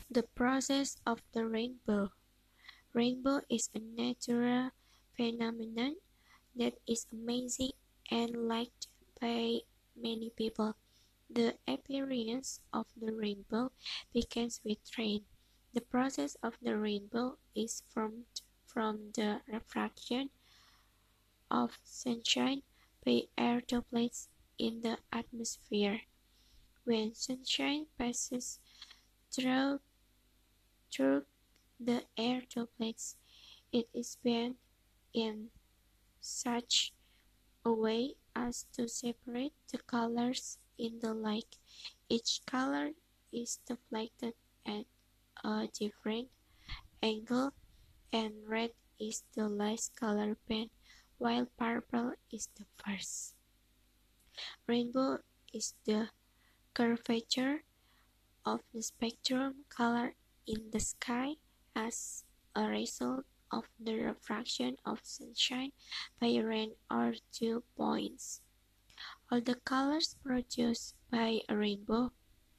The process of the rainbow. Rainbow is a natural phenomenon that is amazing and liked by many people. The appearance of the rainbow begins with rain. The process of the rainbow is formed from the refraction of sunshine by air droplets in the atmosphere. When sunshine passes through, through the air droplets, it is bent in such a way as to separate the colors in the light. Each color is deflected at a different angle, and red is the last color band, while purple is the first. Rainbow is the curvature of the spectrum color in the sky as a result of the refraction of sunshine by rain or dew points. All the colors produced by a rainbow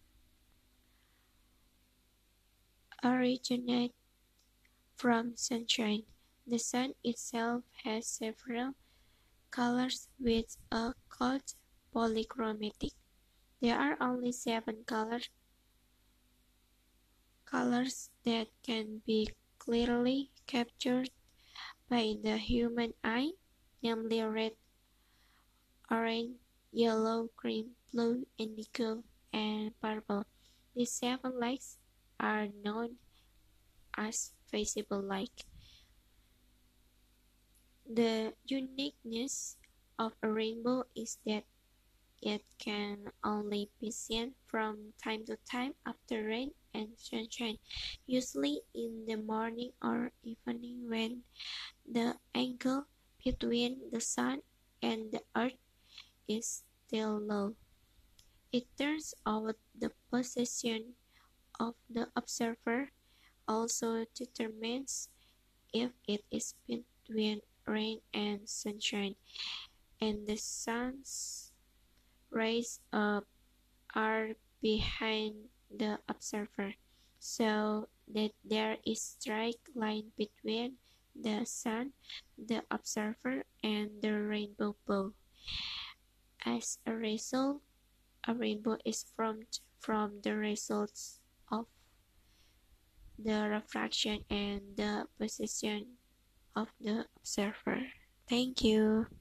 originate from sunshine. The sun itself has several colors which are called polychromatic. There are only 7 colors that can be clearly captured by the human eye, namely red, orange, yellow, green, blue, indigo, and purple. These 7 lights are known as visible light. The uniqueness of a rainbow is that it can only be seen from time to time after rain and sunshine, usually in the morning or evening when the angle between the sun and the earth is still low. It turns out the position of the observer also determines if it is between rain and sunshine, and the sun's rays are behind the observer, so that there is straight line between the sun, the observer, and the rainbow bow. As a result, a rainbow is formed from the results of the refraction and the position of the observer. Thank you.